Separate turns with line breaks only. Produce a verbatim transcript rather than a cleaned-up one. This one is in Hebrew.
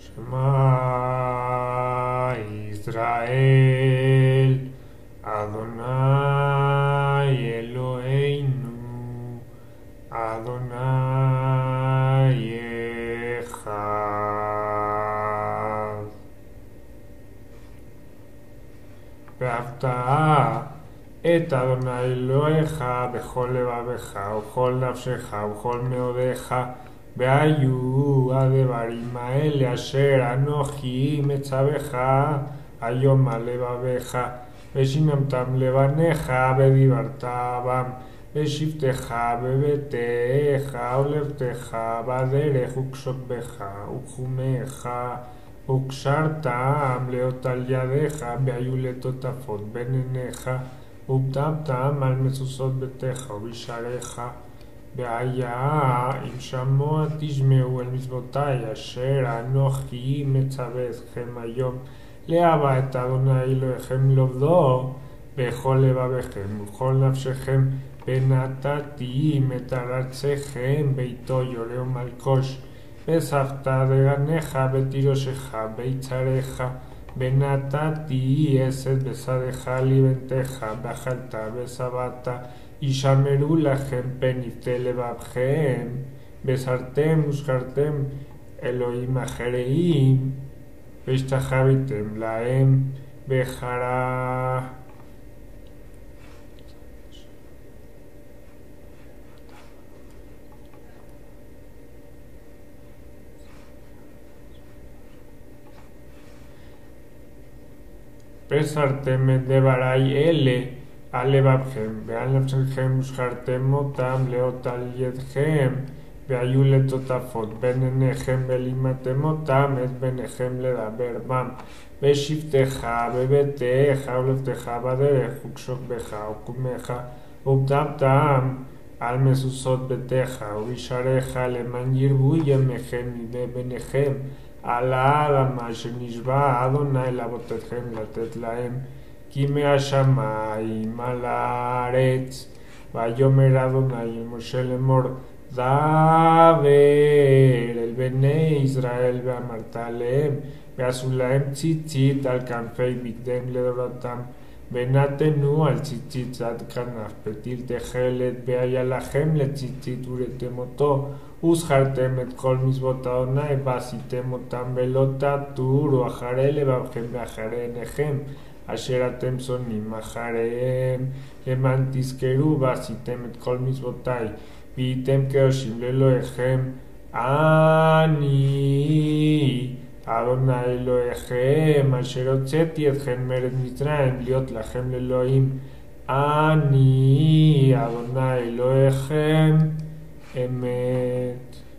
Shema Israel, Adonai Eloheinu, Adonai Echad. Ve'afta et Adonai Elohecha bechol levavecha uchol nafshecha uchol meodecha והיו הדברים האלה אשר אנוכי מצווך היום על לבביך ושיממתם לבניך ודיברת בם בשבתך בביתך ולבתך בדרך וקשותך וחומך וקשרתם להיות על ידיך והיו לטוטפות בין עיניך ובטמתם על משושות ביתך ובשעריך והיה אם שמוע תשמעו אל מצוותיי אשר אנוכי מצווה אתכם היום לאהבה את אדוני אלוהיכם לעובדו בכל לבביכם ובכל נפשכם ונתתי את ארצכם ביתו יורה ומלקוש וספת דגניך ותירושך ביצריך ונתתי עשת בשרך לבנתך ואכלת ושבעת ישמרו לכם פניתי לבבכם בשרתם וזכרתם אלוהים אחרים והשתחוויתם להם בחרה. ושרתם את דברי אלה על לבבכם ועל נפשכם וזכרתם אותם להיות על ידכם והיו לטוטפות בין עיניכם ולימדתם אותם את ביניכם לדבר בם בשבתך בביתך ולבתך בדרך וקשותך וקומך ובטמתם על משושות ביתך ובשעריך למען ירבו ימיכם מידי ביניכם על האדמה שנשבע אדוני לאבותיכם לתת להם כי מהשמיים על הארץ. ויאמר אדוני אל משה לאמור דבר אל בני ישראל ואמרת עליהם ועשו להם ציצית על כנפי בגדיהם לדורתם ונתנו על ציצית עד כנף פתיל תכלת והיה לכם לציצית וראיתם אותו וזכרתם את כל מצוות אדוני ועשיתם אותם ולא תטורו אחרי לבבכם ואחרי עיניכם אשר אתם שונאים אחריהם למען תזכרו ועשיתם את כל מצוותיי והייתם קדושים לאלוהיכם אני אדוני אלוהיכם אשר הוצאתי אתכם מארץ מצרים להיות לכם לאלוהים אני אדוני אלוהיכם אמת.